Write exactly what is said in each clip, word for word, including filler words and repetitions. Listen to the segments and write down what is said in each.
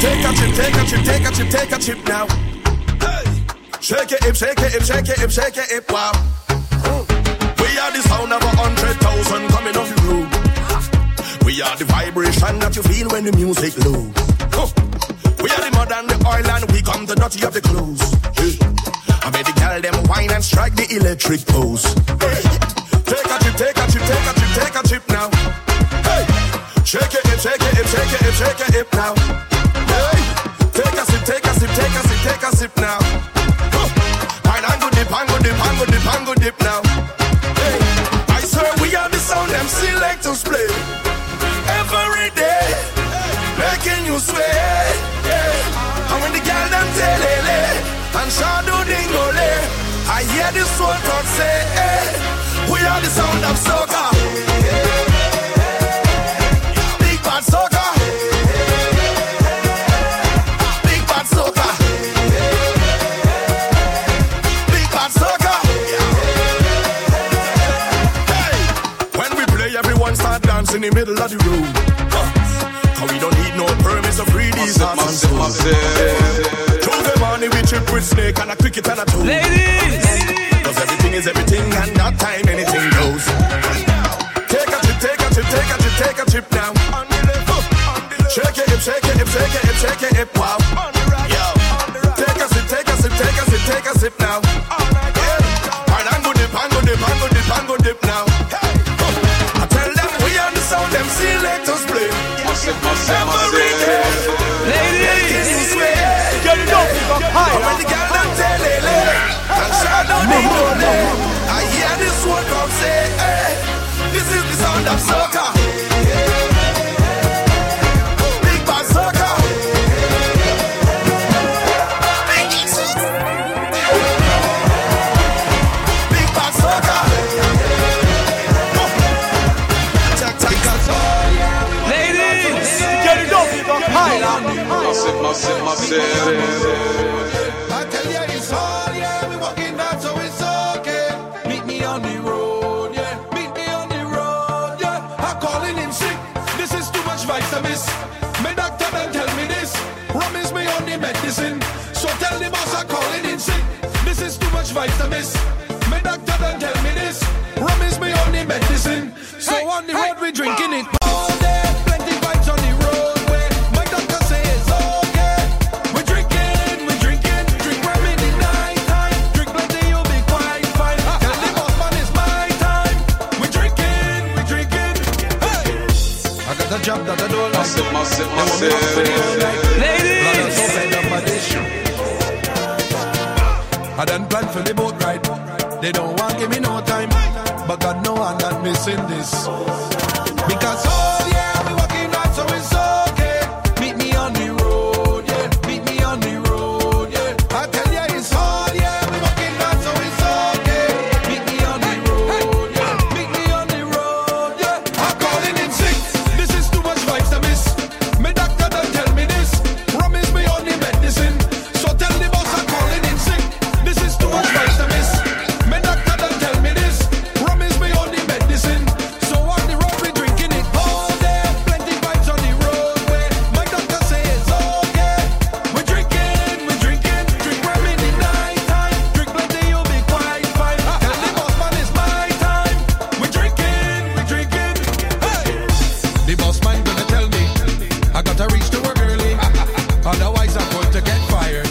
Take a chip, take a chip, take a chip, take a chip now. Hey. Shake it, hip, shake it, hip, shake it, hip, shake it, hip, wow. We are the sound of a hundred thousand coming off the road. We are the vibration that you feel when the music low. We are the mud and the oil and we come the dirty of the clothes. I made the girl them wine and strike the electric pose. Hey. Take a chip, take a chip, take a chip, take a chip now. Hey. Shake it, hip, shake it, hip, shake it, hip, shake it, hip now. Hey. Take a sip, take a sip, take a sip, take a sip now. Pine and go dip, and go dip, and go dip, and go dip now. Hey. I swear we are the sound them selectors play every day, making you sway. Yeah. And when the girl them telele and shadow dingole, I hear the soul talk say, hey, we are the sound of soca. Big bad soca. Big bad soca. Big bad soca. Hey, when we play, everyone start dancing in the middle of the road. We don't need no permits to free these hearts and souls. Through the money we trip with snake and a cricket and a tool. Ladies! Cause everything is everything and that time anything goes. Take a trip, take a trip, take a trip, take a trip now. Shake it, hip, shake it, hip, shake it, hip, shake it, hip, wow. Yo. Take a sip, take a sip, take a sip, take a sip now. Yeah. And I'm go dip, I'm go dip, I'm go dip, I'm go dip now. I tell them we are the sound them selectors play. Every day, ladies, you swear, you don't give up high. When the girl them tell it, and shadow they go there. I hear this one come say, hey, this is the sound of soca. Big bad soca. Big bad soca. Massive, massive, massive. I tell you it's all, yeah, we walking out so it's okay. Meet me on the road, yeah, meet me on the road, yeah. I'm calling in sick, this is too much vitamins. My doctor then tell me this, rum is me on the medicine. So tell the boss I'm calling in sick, this is too much vitamins. My doctor then tell me this, rum is me on the medicine. So hey, on the hey, road we drinking it all day, plenty vibes on the road. Job that I don't like. Massive, massive, massive. Ladies, I done plan for the boat ride. They don't want give me no time, but God know I'm not missing this. Because oh yeah, we walking out so it's okay. Meet me on the road, yeah. Meet me on the road, yeah. I tell ya it's all yeah, we walking out so it's okay. Meet me on the road, yeah. Meet me on the road, yeah. I'm calling in sick. My doctor don't tell me this. Rum is me on the medicine. So tell the boss I'm calling in sick. This is too much vitamins. My doctor don't tell me this. Rum is me on the medicine. So on the road we drinking it all day. Plenty vibes on the roadway. My doctor say it's okay. We drinking, we drinking. Drink rum in the night time. Drink plenty, you'll be quite fine. Tell the boss man it's my time. We drinking, we drinking. Hey. The boss man gonna tell me I gotta reach to work early, otherwise I'm going to get fired.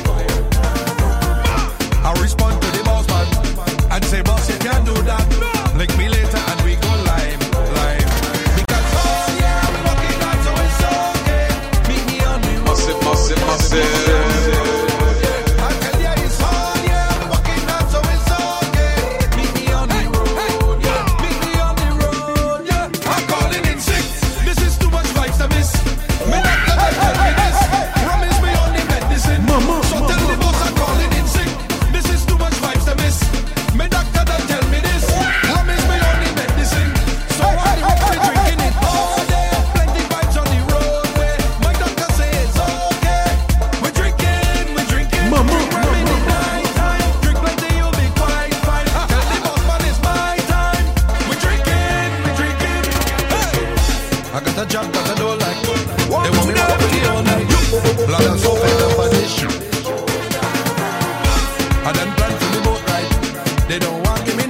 I respond to the boss man and say, boss, you can't do that. Link me later and we go live, live. Because oh yeah, we walking out so it's okay. Meet me on the road. Massive, massive, massive. I tell ya it's all yeah, we walking out so it's okay. Meet me on the road, yeah. Meet me on the road, yeah. I'm calling in sick. This is too much vitamins. Me doctor don't tell me this. Rum is me on the medicine. So tell the boss I'm calling in sick. This is too much vitamins. Me doctor don't tell me this. Rum is me on the medicine. So on the road we drinking it all day. Plenty vibes on the roadway. My doctor say it's okay. We drinking, we drinking. Drink rum in the night time. Drink plenty, you'll be quite fine. Tell the boss man it's my time. We drinking, we drinking. Hey. I got a job that I don't like. They want me to play all night. Lot of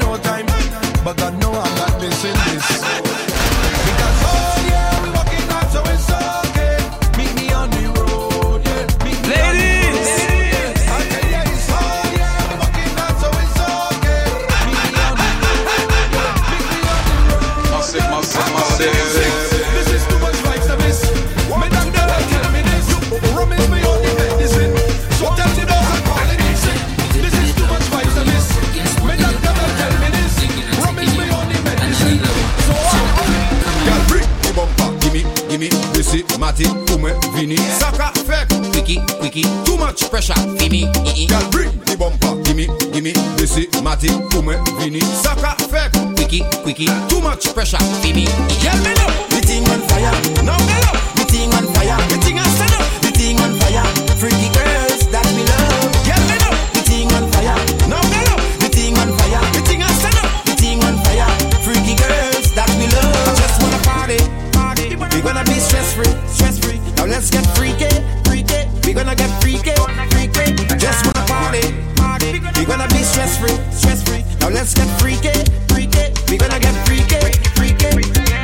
no time. But God know I'm not missing this. Because oh yeah, we walking hard, so it's okay. Meet me on the road, yeah. Meet me Ladies. on the road, yeah. I tell you it's oh yeah, we walking hard, so it's okay. Meet me on the road, yeah. Meet me on the road. Massive, massive, I'm massive. calling in sick. This is too much vibes to miss. Me doctor don't tell me this. Rum is my only medicine. So tell me those I'm calling in sick. This is too much vibes to miss. Me doctor don't tell me this. Rum is my only medicine. So Girl, bring the bumper, gimme, gimme, this is Matty, Ume, Vini, Saka, Fek, Quickie, Quickie, too much pressure, Fimi, Girl, bring the bumper, gimme, gimme, this is Matty, Ume, Vini, Saka, Fek, Quickie, Quickie, too much pressure, Fimi, Girl, me know, the thing on fire, now me know, the thing on fire, the thing on stand up, the thing on fire, freaky girls that me love, Girl, me know, the thing on fire, now me know, the thing on fire, the thing on stand up, the thing on fire, freaky girls that me love. I just wanna party, party. We gonna be stress free, stress free. Now let's get freaky, freaky. We gonna get freaky, freaky. Just wanna party, party. We gonna be stress free, stress free. Now let's get freaky, freaky. We gonna get freaky, freaky.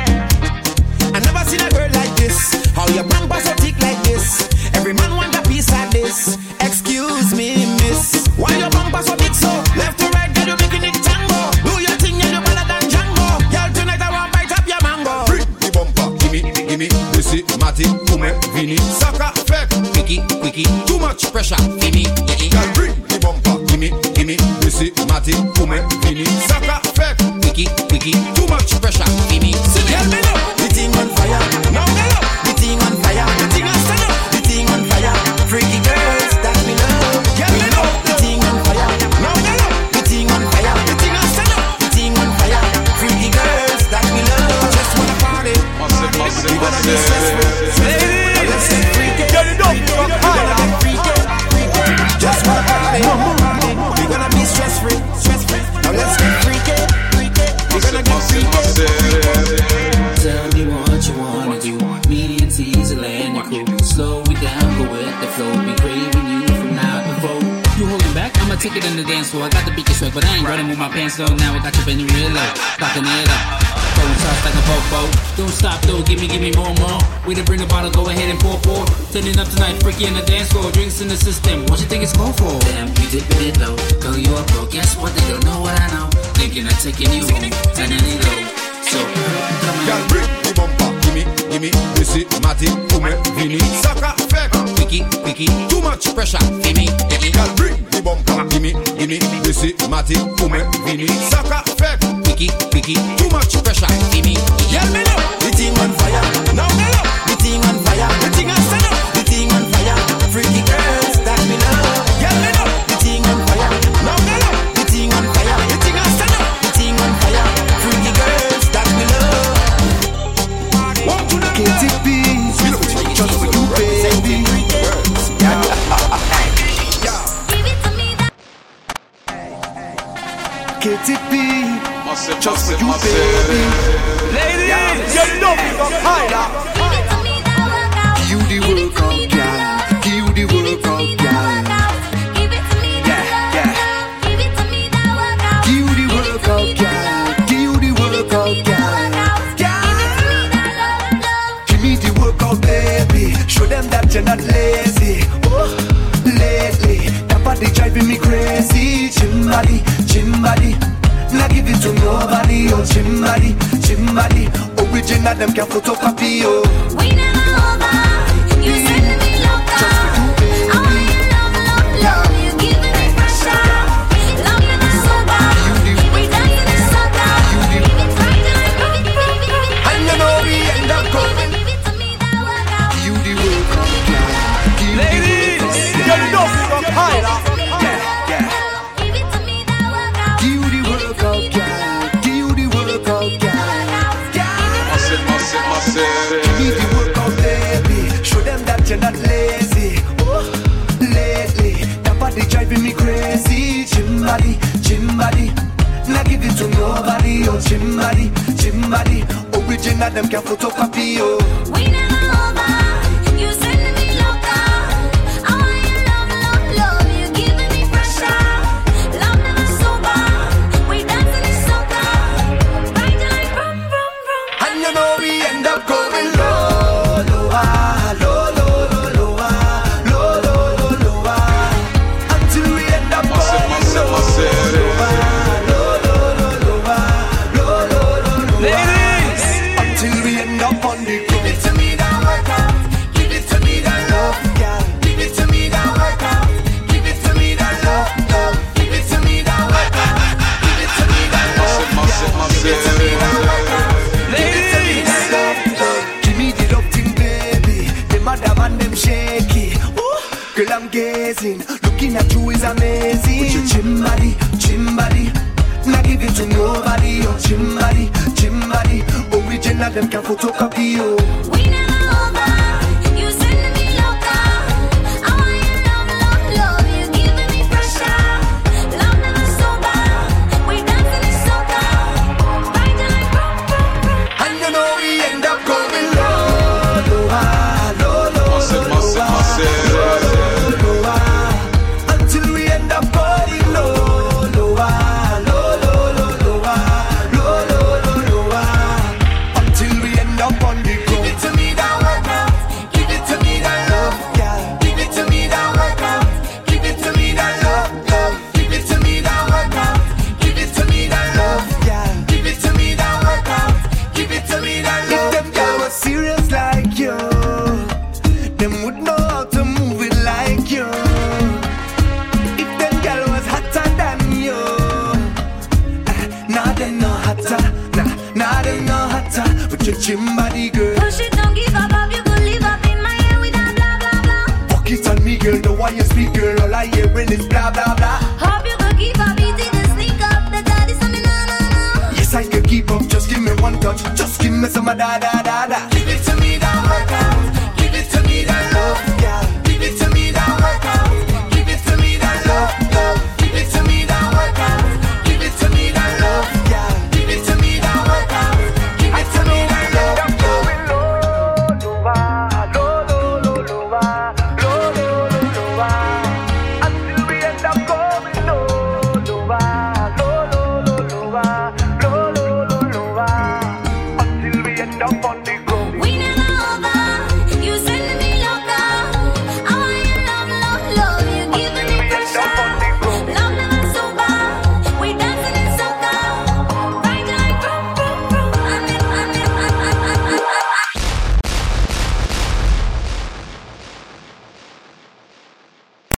I never seen a girl like this. How your bumper so thick like this? Every man want a piece like this. Excuse me, miss. Why your bumper so big so? Left to right, girl, you making it tango. Do your thing, and you better than Django. Girl, tonight I want bite up your mango. Bring the bumper, gimme, gimme. This is Matty, Ume, Vini, Saka, Fek, Quickie, Quickie. Too much pressure, Fimi. Girl, bring the bumper, gimme, gimme. This is Matty, Ume, Vini, Saka, Fek, Quickie, Quickie. Too much pressure, Fimi. Girl, me know the thing on fire. Now me know the thing on fire. The thing on stand up. The thing on fire. Freaky girls that me love. Girl, me know the thing on fire. Now me know the thing on fire. The thing on stand up. The thing on fire. Freaky girls that me love. I just wanna party. Massive, massive, We gonna be stressful. massive. Now let's get freaky. We gonna get freaky. Freaky. Just wanna party. We gonna be stress free. Stress free. Now let's get freaky. Freaky. We gonna get Massive, freaky. massive. Tell me what you wanna do. Me and Teasel and the crew. Slow it down, go with the flow. Be craving you from now to four. You holding back? I'ma take it in the dance floor. I got the beat swag, but I ain't running with my pants though. Now I got you bending real low, cocking it up. Throwing shots like a fofo. Don't stop though, give me, give me more, more. We done bring the bottle, go ahead and pour, pour. Turning up tonight, freaky in the dance floor. Drinks in the system. What you think it's called for? Damn, you dipping it low. Girl, you a pro. Guess what? They don't know what I know. Thinking of taking you home, turning it low. So, come Girl, on. bring the bumper, gimme, gimme. This is Matty, Ume, Vini, Saka, Fek, Quickie, Quickie. Too much pressure, Fimi. Girl, bring the bumper, gimme, gimme. This is Matty, Ume, Vini, Saka, Fek, Quickie, Quickie. Too much pressure, Fimi. Girl, me know the thing on fire. Now me know the thing on fire. The thing on stand up. The thing on fire. Freaky girls that me love. Girl, me know the thing on fire. Now me know the thing on fire. The thing on stand up. The thing on fire. Freaky girls that me love. K T P, just for you, baby. K T P, Massive, just for massive, you, baby. massive. Ladies, you know me from higher. You the workout girl, you the workout girl. Yeah, yeah. You the workout girl, you the workout girl. Give me the workout, baby. Show them that you're not lazy. Oh, lately, that body driving me crazy. Gym body, gym body. Not give it to nobody. Oh, gym body, gym body. Original, them can photocopy. Oh, We never over. You send me loca. just for you, baby. I want your love, love, love. You giving me pressure. Love you the soda. We dancing the soda. Give it right to me, give it, give it, give it. And you know we end up going. Give it to me, that workout. You the workout girl. You the Ladies, workout you girl. know me from higher. Yeah, yeah. Give it to me, that workout. You the workout girl. You the workout girl. Massive, massive, massive. Give the workout, baby. Show them that you're not lazy. Oh, lately, that body driving me crazy. Gym body, gym body. Not give it to nobody. Oh, gym body, gym body. Original, them can photocopy. Oh, We never over. You send me loca. I want your love, love, love. You giving me pressure. Love never sober. We dancing the a true is amazing. With your gym body, gym body. Not give it to nobody. Your gym body, gym body. Original, them can photocopy you. We never over. You sending me loca. I want your love, love, love. You giving me pressure. Love never sober. We dancing in soca. Riding like boom, boom, boom. And you know we end up going low, low, ah, low, low, Massive, low, massive, ah, massive. low, low, ah. Until we end up going low, low, ah, low, low, low, low, ah, low, low, low, low, ah. Until we end up on the go. Give it to me that workout. Give it to me that love, yeah. Give it to me that workout. Give it to me that love, love. Give it to me that workout. Give it to me that love, yeah. Give it to me that workout. Give it to me that love. If them girls were serious like you, them would know how to move it like you. If them girls was hotter than you, ah, nah they no hotter, nah, nah they no hotter. With your gym body, girl. Push it, don't give up, up. You could live up in my head with that blah, blah, blah. Fuck it on me, girl. The way you speak, girl. All I hear when it's blah blah blah. Hope you could keep up, easy to sneak up. The daddy, some me, nah, nah, nah. Yes, I can keep up. Just give me one touch. Just give me some of that.